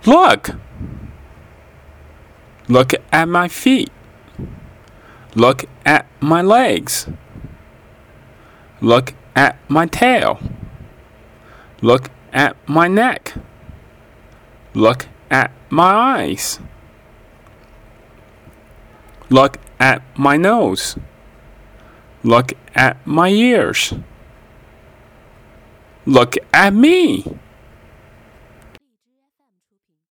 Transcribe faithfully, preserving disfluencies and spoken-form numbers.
Look! Look at my feet. Look at my legs. Look at my tail. Look at my neck. Look at my eyes. Look at my nose. Look at my ears. Look at me.